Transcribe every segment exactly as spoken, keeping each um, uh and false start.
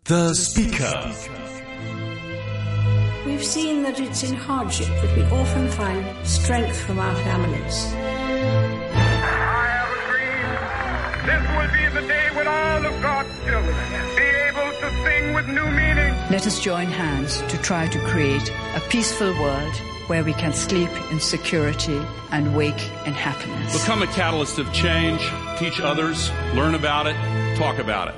The Speaker. We've seen that it's in hardship that we often find strength from our families. I have a dream. This will be the day when all of God's children be able to sing with new meaning. Let us join hands to try to create a peaceful world where we can sleep in security and wake in happiness. Become a catalyst of change, teach others, learn about it, talk about it.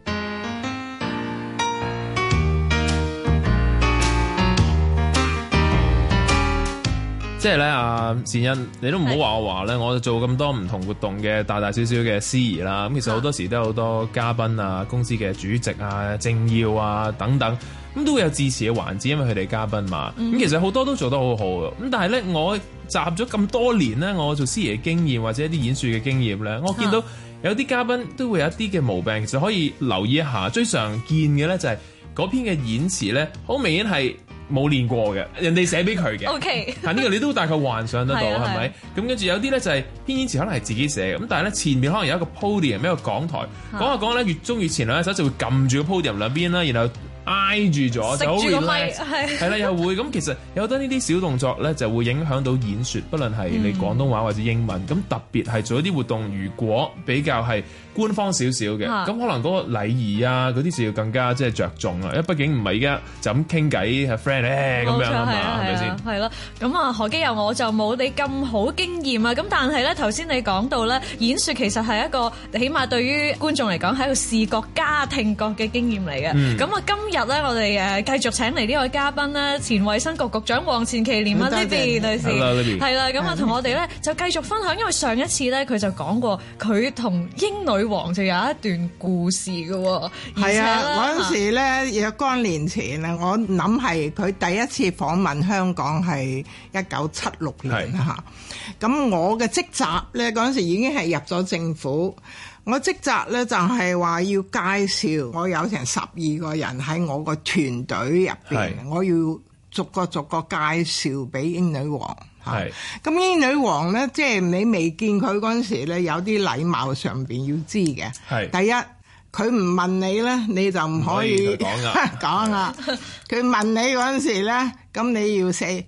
即係咧，阿善欣，你都唔好話我話咧，我做咁多唔同活動嘅大大小小嘅司儀啦，咁其實好多時都有好多嘉賓啊、公司嘅主席啊、政要啊等等，咁都會有致辭嘅環節，因為佢哋嘉賓嘛。咁、嗯、其實好多都做得好好嘅，咁但係咧，我集咗咁多年咧，我做司儀嘅經驗或者一啲演說嘅經驗咧，我見到有啲嘉賓都會有一啲嘅毛病，其實可以留意一下。最常見嘅咧就係嗰篇嘅演詞咧，好明顯係冇練過嘅，人哋寫俾佢嘅。 OK， 但呢個你都大概幻想得到，係咪？咁跟住有啲咧就係編演詞可能係自己寫嘅，咁但係咧前面可能有一個 podium， 一個講台，講下講咧越中越前兩隻手就會撳住個 podium 兩邊啦，然後挨住咗就好 relax， 係啦，又會咁其實有好多呢啲小動作咧就會影響到演說，不論係你廣東話或者英文，咁、嗯、特別係做一啲活動，如果比較係官方少少嘅，咁、啊、可能嗰個禮儀啊嗰啲就要更加即係着重啦，因為畢竟唔係而家就咁傾偈係 friend 咧咁樣啊嘛，係咪先？ 係咯，咁啊何基佑我就冇你咁好經驗啊，咁但係咧頭先你講到咧演說其實係一個起碼對於觀眾嚟講係一個視覺加聽覺嘅經驗嚟嘅，咁、嗯、啊今日咧我哋誒繼續請嚟呢位嘉賓咧，前衛生局局長黃錢其濂啊 Libby 女士，係啦，咁啊同我哋咧就繼續分享，因為上一次咧佢就講過佢同英女王就有一段故事嘅喎， 係啊嗰陣時咧若干年前啊，我諗係佢第一次訪問香港係一九七六年嚇，咁我嘅職責咧嗰陣時已經係入咗政府。我職責咧就係話要介紹，我有成十二個人喺我個團隊入邊，我要逐個逐個介紹俾英女王。係，咁英女王咧，即係你未見佢嗰陣時咧，有啲禮貌上邊要知嘅。係，第一佢唔問你咧，你就唔可以講噶，講啦。佢問你嗰陣時咧，咁你要 say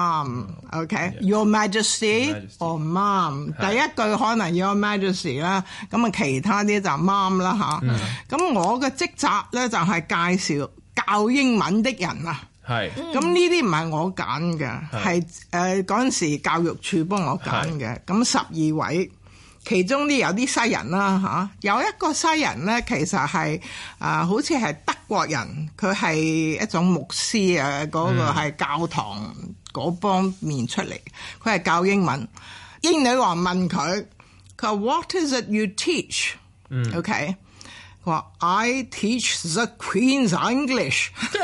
mom，OK，Your Majesty or mom。第一句可能 Your Majesty 啦，咁啊其他啲就 mom 啦吓。咁我嘅職責咧就係介紹教英文的人啊。係，咁呢啲唔係我揀嘅，係誒嗰陣時教育處幫我揀嘅。咁十二位，其中啲有啲西人啦嚇、啊，有一個西人咧，其實係啊、呃，好似係德國人，佢係一種牧師啊，嗰、那個係教堂嗰方面出嚟，佢係教英文。英女王問佢，佢話 What is it you teach？ 嗯，OK。佢話 I teach the Queen's English。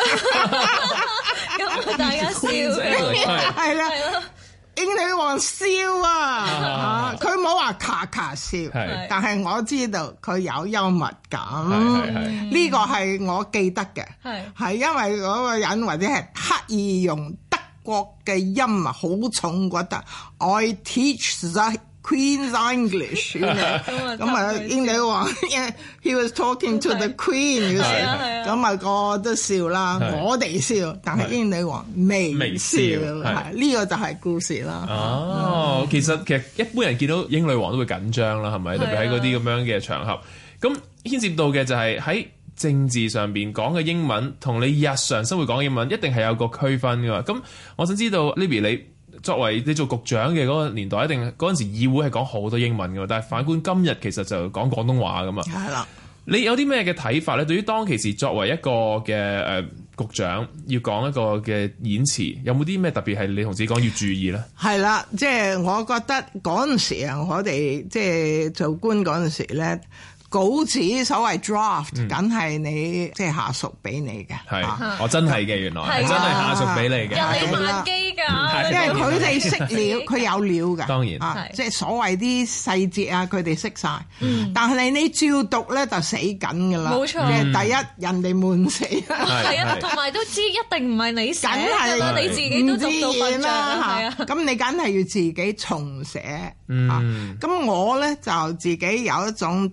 咁大家笑， 係啦，英女王笑啊！佢冇話卡卡笑，但係我知道佢有幽默感。呢個係我記得嘅，係因為嗰個人或者係刻意用德國嘅音啊，好重覺得 I teach the Queen's English， 咁啊英女王，he was talking to the Queen， 咁啊個都笑啦，我哋笑，但係英女王未笑，係呢個就係故事啦。 哦，嗯、其實其實一般人見到英女王都會緊張啦，係咪？特別喺嗰啲咁樣嘅場合，咁牽涉到嘅就係喺政治上邊講嘅英文，同你日常生活講嘅英文一定係有個區分㗎嘛。咁我想知道 Libby 你。作為你做局長嘅嗰個年代，一定嗰陣時議會係講好多英文㗎嘛，但係反觀今日其實就講廣東話㗎嘛。係啦，你有啲咩嘅睇法咧？對於當其時作為一個嘅誒、呃、局長要講一個嘅演詞，有冇啲咩特別係你同自己講要注意咧？ 係啦，即係我覺得嗰陣時啊，我哋即係做官嗰陣時咧。稿紙所謂 draft，梗係你即係下屬俾你嘅。係、 啊，我真係嘅，原來係真係下屬俾你嘅。 人哋慢機㗎， 因為佢哋識料，佢有料㗎。當然， 啊、 即係所謂啲細節啊，佢哋識晒。嗯、但係你照讀咧就死緊㗎啦。冇錯。即係第一，人哋悶死。 係啊，同埋都知一定唔係你寫㗎啦，你自己都讀到笨啦。係啊，咁你梗係要自己重寫。嗯。咁、啊、我咧就自己有一種特別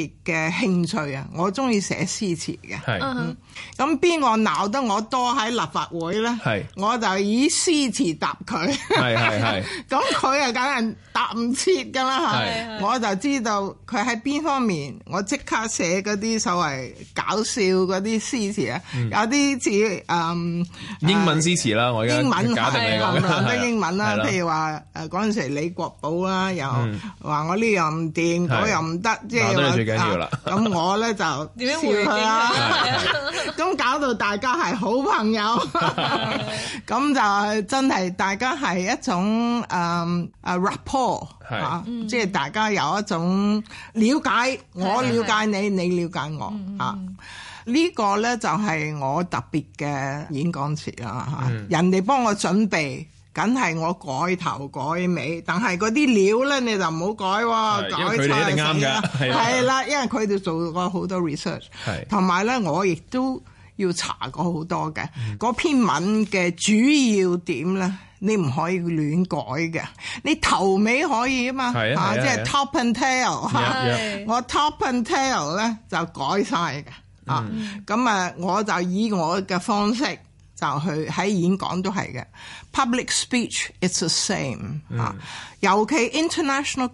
別嘅興趣啊！我中意寫詩詞嘅。 係。 嗯。咁邊個鬧得我多喺立法會咧？係。我就以詩詞答佢。係係係。咁佢啊，梗係答唔切㗎啦嚇。我就知道佢喺邊方面，我即刻寫嗰啲所謂搞笑嗰啲詩詞啊，嗯、有啲似誒英文詩詞啦，我而家假定你講嘅英文啦，譬如話誒嗰陣時李國寶啦，又話我呢樣唔掂，嗰樣唔得，即係話最緊要啦。咁我咧就笑佢啦，咁搞到大家係好朋友，咁就真係大家係一種誒誒 rapport 嚇，即係大家有一種了解，我了解你，你了解我嚇。呢個咧就係我特別嘅演講詞啦嚇，人哋幫我準備。梗係我改頭改尾，但係嗰啲料咧你就唔好改喎，改錯就死啦。係啦，因為佢哋做過好多 research， 同埋咧我亦都要查過好多嘅。嗰、嗯、篇文嘅主要點咧，你唔可以亂改嘅。你頭尾可以啊嘛，嚇，即係 top and tail 嚇。我 top and tail 咧就改晒嘅，啊，咁啊我就以我嘅方式。就去喺演講都係嘅 ，public speech it's the same 啊、嗯，尤其 international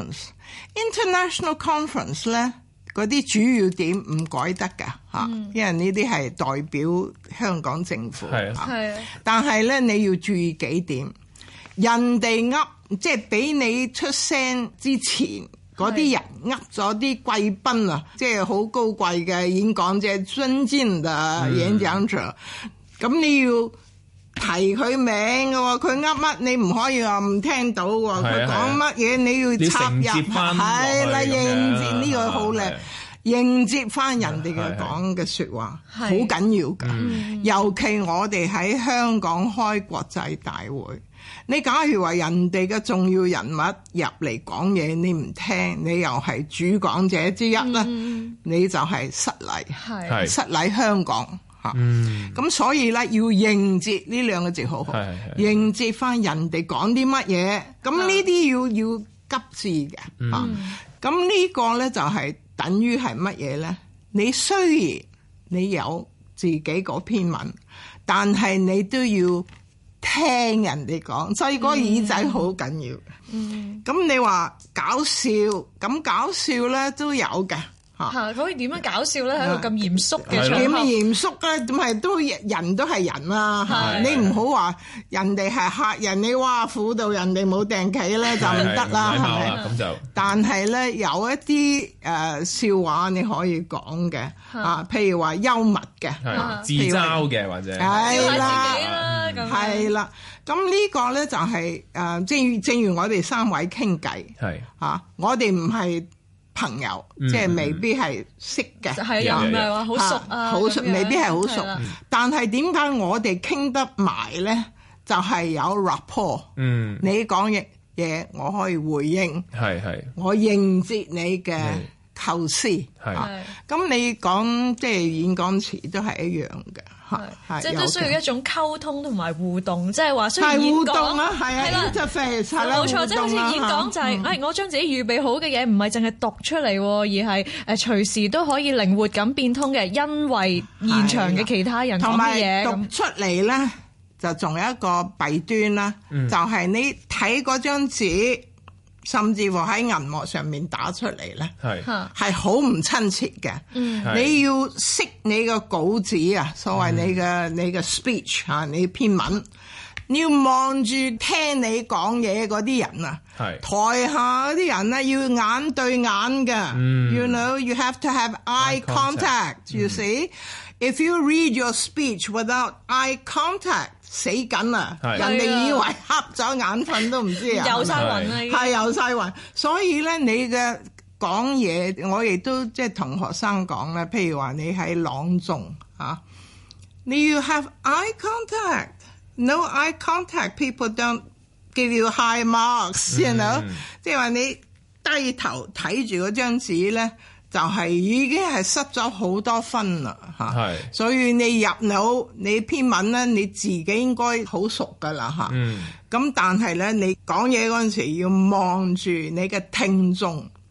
conference，international conference 咧嗰啲主要點唔改得㗎嚇、嗯，因為呢啲係代表香港政府係啊，係啊，但係咧你要注意幾點，人哋噏即係俾你出聲之前嗰啲人噏咗啲貴賓啊，即係好高貴嘅演講者，尊敬嘅演講者。嗯咁你要提佢名嘅喎，佢噏乜你唔可以話唔聽到喎，佢講乜嘢你要插入，係啦，應接呢個好靚，應接翻人哋嘅講嘅説話，好緊要㗎、嗯。尤其我哋喺香港開國際大會，你假如話人哋嘅重要人物入嚟講嘢，你唔聽，你又係主講者之一啦、嗯，你就係失禮，係失禮香港。嗯，咁所以咧要應接呢兩個字好好，應接翻人哋講啲乜嘢，咁呢啲要要急智嘅，吓、嗯，咁、啊、呢個咧就係、是、等於係乜嘢咧？你雖然你有自己嗰篇文，但係你都要聽人哋講，所以嗰個耳仔好緊要嘅。嗯，咁你話搞笑，咁搞笑咧都有嘅。 嚇，可以點樣搞笑咧？喺個咁嚴肅嘅場合， 點嚴肅咧？咁係都人都係人啦、啊。你唔好話人哋係客人，你話輔導人哋冇訂企咧就唔得啦，係咪？咁就。但係咧有一啲誒、呃、笑話你可以講嘅啊，譬如話幽默嘅， 自嘲嘅或者係啦，係啦。咁呢個咧就係、是、誒、呃，正正如我哋三位傾偈，係嚇、啊，我哋唔係。朋友、嗯、即係未必係識嘅， 係又唔係話好熟啊， 好熟未必係好熟。但係點解我哋傾得埋咧？就係、是、有 rapport。嗯，你講嘢嘢，我可以回應，係係，我應接你嘅構思，係。咁你講即係演講詞都係一樣嘅。 係，即係都需要一種溝通同埋互動，即係話需要演講啊，係啊，就係冇錯，即係好似演講就係、是，誒、嗯，我將自己預備好嘅嘢唔係淨係讀出嚟，而係誒隨時都可以靈活咁變通嘅，因為現場嘅其他人講嘅嘢讀出嚟咧，就仲有一個弊端啦、嗯，就係、是、你睇嗰張紙。甚至乎喺銀幕上面打出嚟咧，係係好唔親切嘅。嗯，你要識你個稿紙啊，所謂你嘅、嗯、你嘅 speech 嚇，你篇文，你要望住聽你講嘢嗰啲人啊，係台下嗰啲人咧要眼對眼嘅、嗯。You know, you have to have eye contact. You see, if you read your speech without eye contact. 死緊啊！人哋以為瞌咗眼瞓都唔知啊， 遊晒雲啦， 係遊晒雲。所以咧，你嘅講嘢，我亦都即係同學生講咧。譬如話你喺朗誦啊，你要 have eye contact。No eye contact, people don't give you high marks、嗯。You know，即係話你低頭睇住嗰張紙咧。就係、是、已經係失咗好多分啦嚇，所以你入腦你篇文咧，你自己應該好熟噶啦嚇。咁、嗯、但係咧，你講嘢嗰陣時要望住你嘅聽眾，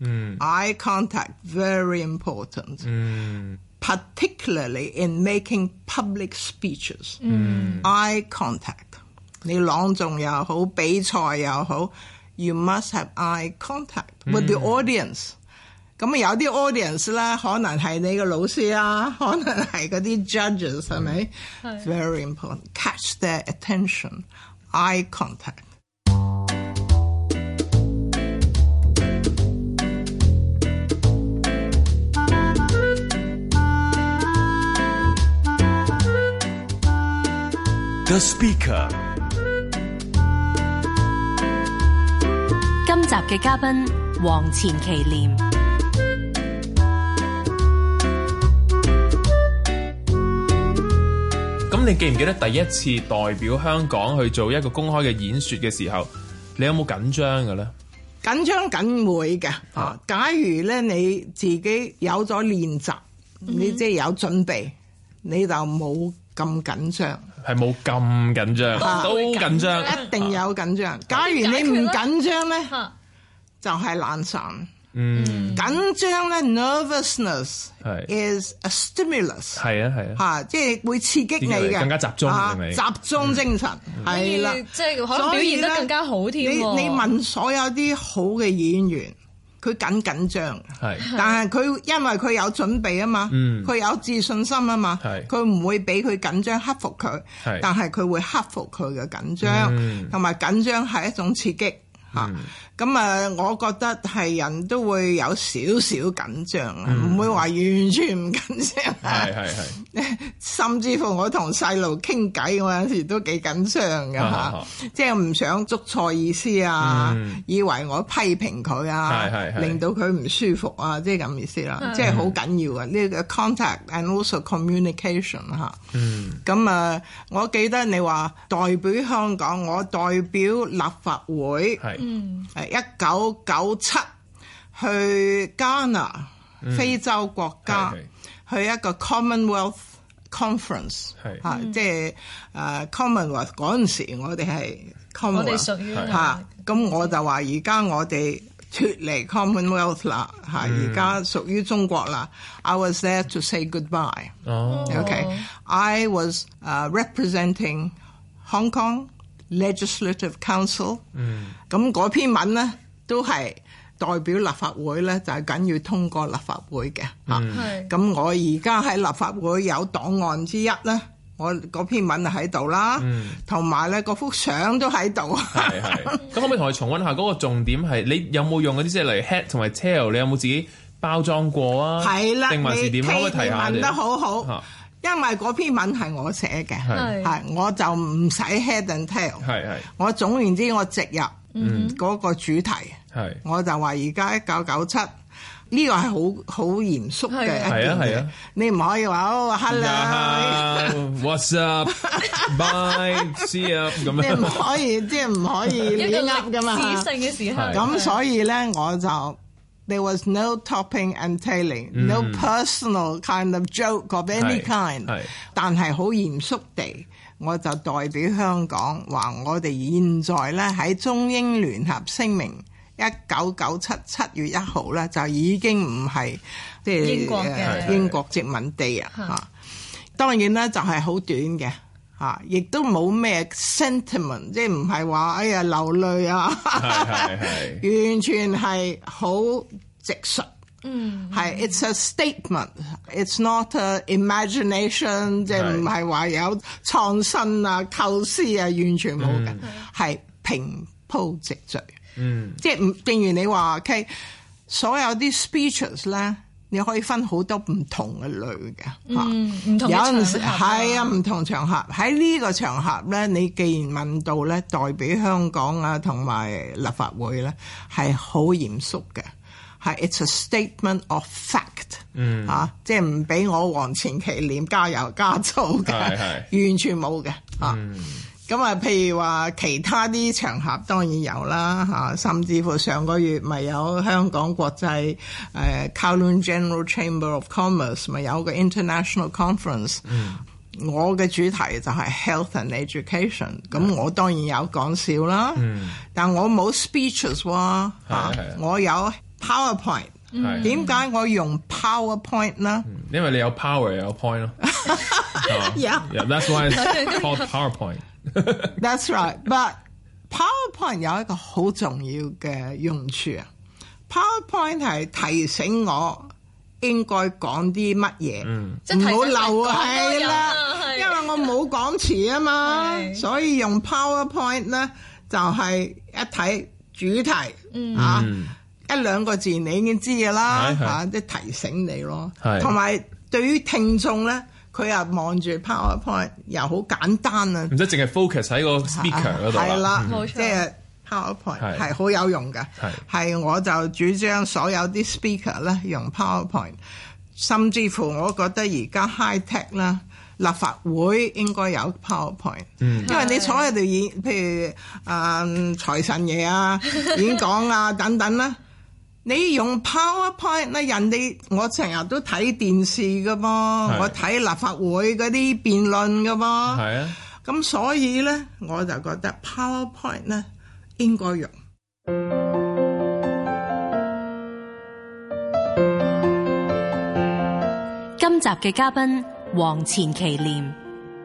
嗯 eye contact very important， 嗯 particularly in making public speeches， 嗯 eye contact， 你朗誦又好，比賽又好 ，you must have eye contact with the audience。咁有啲 audience 咧，可能係你嘅老師啊，可能係嗰啲 judges 係咪？Very important. Catch their attention. Eye contact. ，The Speaker。 今集嘅嘉賓黃錢其濂。 咁你記唔記得第一次代表香港去做一個公開嘅演說嘅時候，你有冇緊張嘅咧？ 緊張緊會嘅啊！假如咧你自己有咗練習，你即係有準備，你就冇咁緊張。 係冇咁緊張，都緊張， 一定有緊張。假如你唔緊張咧，就係懶散。 嗯， 緊張咧 ，nervousness is a stimulus。 係啊係啊， 嚇，即係會刺激你嘅， 更加集中，係咪？ 集中精神係啦， 即係可能表現得更加好添。 你你問所有啲好嘅演員，佢緊緊張， 係， 但係佢因為佢有準備啊嘛，佢有自信心啊嘛，佢唔會俾佢緊張克服佢，但係佢會克服佢嘅緊張，同埋緊張係一種刺激嚇。咁啊，我覺得係人都會有少少緊張啊，唔、嗯、會話完全唔緊張。 係係係， 甚至乎我同細路傾偈，我有時都幾緊張㗎嚇，即係唔想捉錯意思啊，嗯、以為我批評佢啊，令到佢唔舒服啊，即係咁意思啦，即係好緊要嘅呢、呢個 contact and also communication 嚇。嗯，咁啊，我記得你話代表香港，我代表立法會，係嗯。一九九七去加拿、嗯、非洲國家去一個 Commonwealth Conference， 嚇，即係誒 Commonwealth 嗰陣時，我哋係 Commonwealth，我哋屬於嚇，咁我就話而家我哋脫離 Commonwealth 啦，嚇，而家屬於中國啦。I was there to say goodbye。哦 ，OK，I was、uh, representing Hong Kong Legislative Council， 咁嗰、嗯、篇文咧都係代表立法會咧，就係、是、緊要通過立法會嘅嚇。咁、嗯、我而家喺立法會有檔案之一咧，我嗰篇文就喺度啦，同埋咧嗰幅相都喺度。係係。咁可唔可以同我重溫下嗰個重點係？你有冇用嗰啲即係例如 head 同埋 tail？ 你有冇自己包裝過啊？係啦，定還是點？可唔可以提下？問得好好。啊，因為嗰篇文係我寫嘅，係我就唔使 head and tail， 係係我總言之我直入嗰個主題，係我就話而家一九九七呢個係好好嚴肅嘅一件嘢，你唔可以話哦 hello，what's up，bye，see you 咁樣，你唔可以即係唔可以亂噏噶嘛，指性嘅時候，咁所以咧我就。There was no topping and tailing,、嗯、no personal kind of joke of any kind。但係好嚴肅地，我就代表香港話，我哋現在咧喺中英聯合聲明一九九七七月一號咧，就已經唔係即係英國嘅英國殖民地啊嚇。當然咧就係好短嘅。啊！亦都冇咩 sentiment， 即係唔係話哎呀流淚啊，完全係好直述。嗯，係 it's a statement，it's not a imagination， 即係唔係話有創新啊、構思啊，完全冇嘅，係、嗯、平鋪直敘。嗯，即係唔正如你話 ，OK， 所有啲 speeches 咧。你可以分好多唔同嘅類嘅，嗯，唔同嘅場合，有陣時係啊，唔同場合喺呢個場合咧，你既然問到咧，代表香港啊同埋立法會咧，係好嚴肅嘅，係 it's a statement of fact， 嗯啊，即係唔俾我黃錢其濂加油加醋嘅，係係完全冇嘅，啊。嗯咁啊，譬如話其他啲場合當然有啦嚇，甚至乎上個月咪有香港國際誒 Kowloon General Chamber of Commerce 咪有個 International Conference，嗯、我嘅主題就係 Health and Education， 咁、嗯、我當然有講笑啦，嗯、但我冇 speeches 喎嚇，我有 PowerPoint。點解我用 PowerPoint 呢？ 因為你有 power 有 point 咯。 Yeah, yeah, that's why it's called PowerPoint. That's right. But PowerPoint 有一個好重要嘅用處啊。PowerPoint 係提醒我應該講啲乜嘢，唔好漏係啦。因為我冇講詞啊嘛，所以用 PowerPoint 咧就係一睇主題、嗯、啊。一兩個字你已經知㗎啦，嚇，即係提醒你咯。同埋對於聽眾咧，佢又望住 PowerPoint 又好簡單啊， 唔使淨係 focus 喺個 speaker 嗰度啦。係啦，冇錯，即係 PowerPoint 係好有用㗎。係我就主張所有啲 speaker 咧用 PowerPoint， 甚至乎我覺得而家 high tech 啦，立法會應該有 PowerPoint，嗯、因為你坐喺度演，譬如啊財神爺啊演講啊等等啦。你用 PowerPoint 咧，人哋我成日都睇電視噶噃，我睇立法會嗰啲辯論噶噃，係啊，咁所以咧我就覺得 PowerPoint 咧應該用。 今集嘅嘉賓黃錢其濂。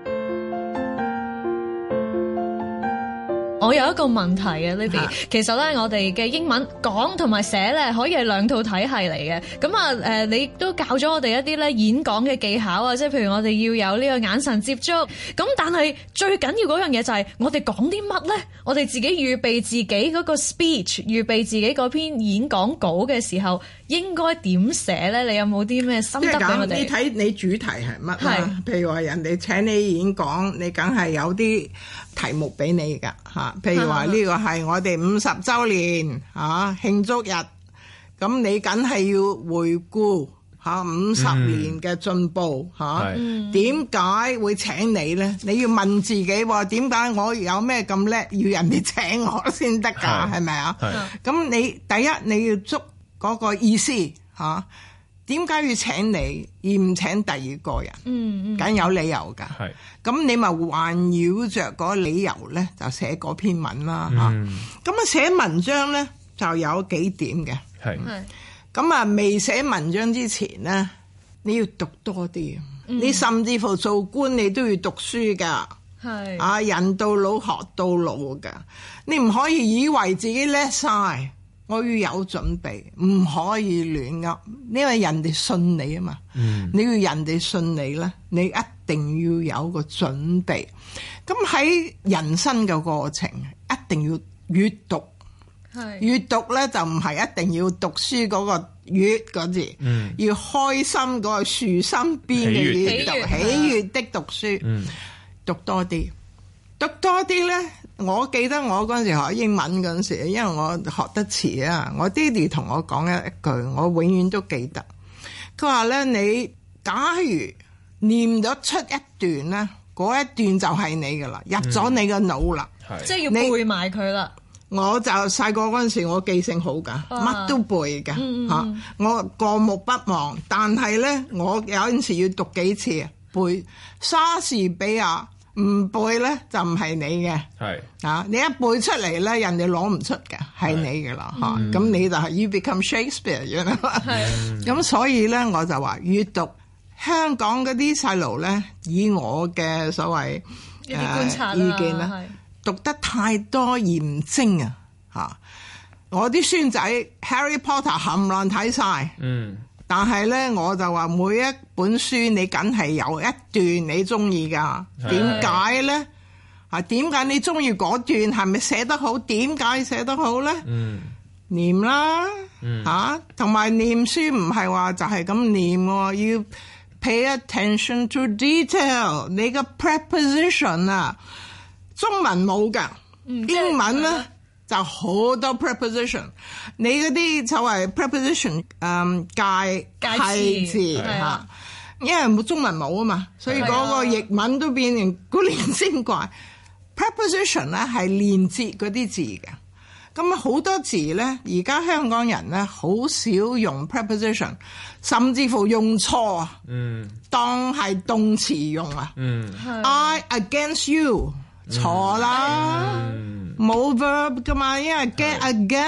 我有一個問題啊 Libby，啊其實咧我哋嘅英文講同埋寫咧可以係兩套體系嚟嘅。咁啊誒，你都教咗我哋一啲咧演講嘅技巧啊，即係譬如我哋要有呢個眼神接觸。咁但係最緊要嗰樣嘢就係我哋講啲乜咧？我哋自己預備自己嗰個 speech， 預備自己嗰篇演講稿嘅時候，應該點寫咧？你有冇啲咩心得俾我哋？ 你睇你主題係乜啦？譬如話人哋請你演講，你梗係有啲題目俾你㗎嚇。譬如話呢個係我哋五十週年嚇慶祝日，咁你梗係要回顧嚇五十年嘅進步嚇。點解會請你咧？你要問自己喎，點解我有咩咁叻，要人哋請我先得㗎？係咪啊？咁你第一你要捉嗰個意思嚇，點解要請你而唔請第二個人？嗯嗯，梗有理由㗎。係，咁你咪環繞着嗰個理由咧，就寫嗰篇文啦嚇。咁啊寫文章咧就有幾點嘅。係，咁啊未寫文章之前咧，你要讀多啲。嗯、你甚至乎做官你都要讀書㗎。係，啊人到老學到老㗎，你唔可以以為自己叻晒。我要有準備，唔可以亂噏，因為人哋信你啊嘛。嗯、你要人哋信你咧，你一定要有個準備。咁喺人生嘅過程，一定要閱讀。係閱讀咧就唔係一定要讀書嗰個閱嗰字，嗯、要開心嗰個豎心邊嘅閱讀，喜悅的讀書，嗯、讀多啲，讀多啲咧。我記得我嗰陣時學英文嗰陣時，因為我學得遲啊，我爹哋同我講一句，我永遠都記得。佢話咧，你假如念得出一段咧，嗰一段就係你噶啦，入咗你個腦啦， 嗯、即係要背埋佢啦。 我就細個嗰陣時，我記性好噶，乜都背噶嚇、嗯啊，我過目不忘。但係咧，我有陣時要讀幾次啊，背莎士比亞。唔背咧就唔係你嘅，係啊！你一背出嚟咧，人哋攞唔出嘅，係你嘅啦嚇。咁、嗯、你就係 you become Shakespeare 咁啦。係咁，所以咧我就話閱讀香港嗰啲細路咧，以我嘅所謂一啲觀察、呃、意見咧，讀得太多嚴精啊嚇！我啲孫仔 Harry Potter 冚唪唥睇晒。嗯。但係咧，我就話每一本書你梗係有一段你中意㗎。點解咧？啊，點解你中意嗰段係咪寫得好？點解寫得好咧？嗯，念啦，嗯嚇，同埋念書唔係話就係咁念喎，要 pay attention to detail。你個 preposition 啊，中文冇㗎，嗯、英文咧。就好多 preposition， 你嗰啲所謂 preposition， 嗯，介介字嚇，因為冇中文冇啊嘛，所以嗰個譯文都變成古靈精怪。preposition 咧係連接嗰啲字嘅，咁好多字咧，而家香港人咧好少用 preposition， 甚至乎用錯啊，嗯，當係動詞用啊，嗯 ，I against you。錯啦，冇、嗯、verb 噶嘛，因為 get against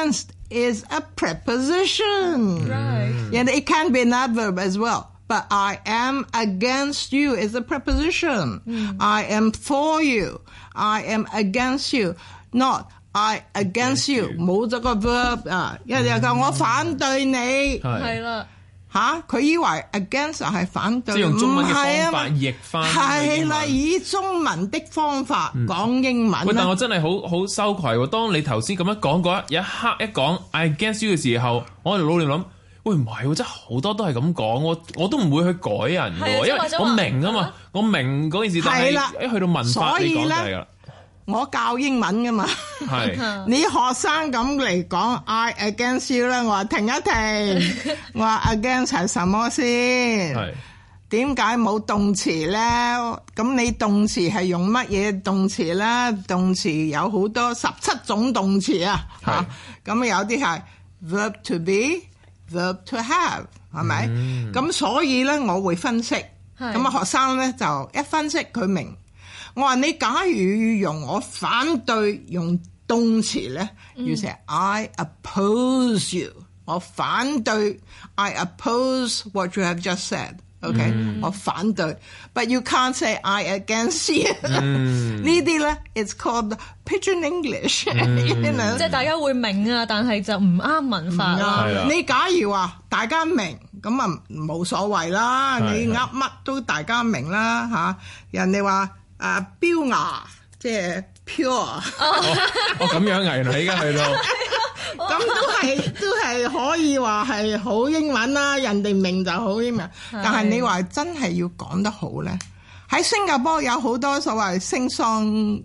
is a preposition. Right. And it can be an adverb as well. But I am against you is a preposition. Mm. I am for you. I am against you. Not I against you. 冇咗個 verb 啊，人哋講我反對你。 係啦。 吓，佢以為 against 係反對， 即係用中文嘅方法唔係啊譯翻。 係啦，以中文的方法講英文。 喂，但我真係好好羞愧喎！當你頭先咁樣講嗰一一刻一講 I against you 嘅時候，我喺度腦裏諗，喂唔係喎，真係好多都係咁講，我我都唔會去改人嘅喎，因為我明啊嘛，我明嗰件事，但係一去到文法你講就係啦。 我教英文噶嘛，你學生咁嚟講 I against you 咧，我話停一停，我話 against 係什麼先？點解冇動詞咧？咁你動詞係用乜嘢動詞咧？動詞有好多十七種動詞啊，嚇咁有啲係 verb to be、verb to have 係咪？咁、嗯、所以咧，我會分析，咁啊學生咧就一分析佢明。我話你假如用我反對用動詞咧，要寫 I oppose you， 我反對 I oppose what you have just said，OK，、okay? 我反對 ，but you can't say I against you，、嗯、呢啲咧 it's called Pidgin English，、嗯、you know? 即係大家會明啊，但係就唔啱文法啦。 你假如話大家明，咁啊冇所謂啦，你噏乜都大家明啦嚇，人哋話。啊，標牙即係 pure， 哦哦咁樣啊，原來而家去到， 咁都係都係可以話係好英文啦，人哋明就好英文。但係你話真係要講得好咧，喺新加坡有好多所謂星桑誒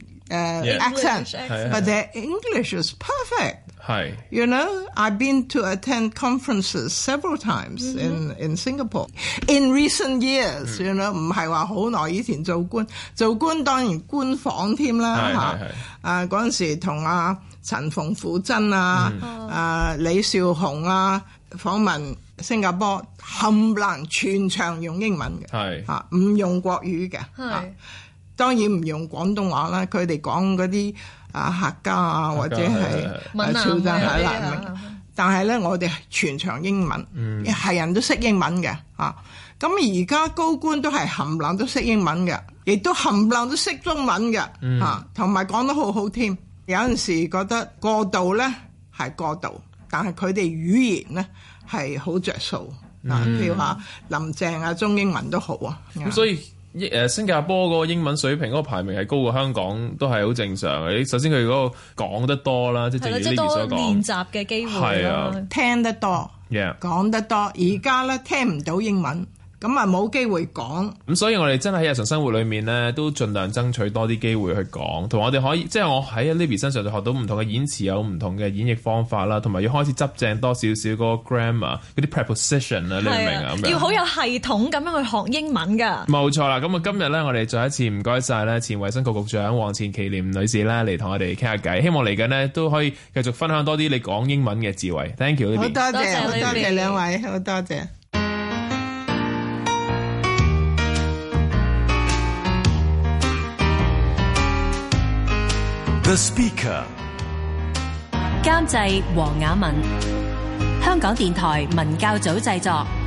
accent，but their English is perfect。 係 You know, I've been to attend conferences several times in in Singapore in recent years. You know, 唔係話好耐以前做官，做官當然官訪添啦嚇。啊嗰陣時同阿陳馮富珍啊、啊李少雄啊訪問新加坡，冚唪唥全場用英文嘅，係嚇唔用國語嘅。係當然唔用廣東話啦，佢哋講嗰啲。啊客家啊或者係潮州係啦，但係咧我哋全場英文，係、嗯、人都識英文嘅啊。咁而家高官都係冚唪唥都識英文嘅，亦都冚唪唥都識中文嘅、嗯、啊，同埋講得好好添。有陣時覺得過度咧係過度，但係佢哋語言咧係好着數啊。譬如話林鄭啊，中英文都好啊。 咁所以。誒新加坡嗰個英文水平嗰個排名係高過香港，都係好正常嘅。首先佢嗰個講得多啦，即係正如呢邊所講， 練習嘅機會啦， 聽得多， yeah. 講得多。而家咧聽唔到英文。咁啊冇機會講， 咁所以我哋真係喺日常生活裏面咧，都盡量爭取多啲機會去講，同埋我哋可以，即係我喺 Libby 身上就學到唔同嘅演詞，有唔同嘅演繹方法啦，同埋要開始執正多少少嗰個 grammar 嗰啲 preposition 啊，你明唔明啊？ 要好有系統咁樣去學英文㗎。 冇錯啦，咁啊今日咧，我哋再一次唔該晒咧，前衛生局局長黃錢其濂女士咧嚟同我哋傾下偈，希望嚟緊呢都可以繼續分享多啲你講英文嘅智慧。Thank you， 好多謝，好多謝兩位，好多謝。 The Speaker 監製黃雅文，香港電台文教組製作。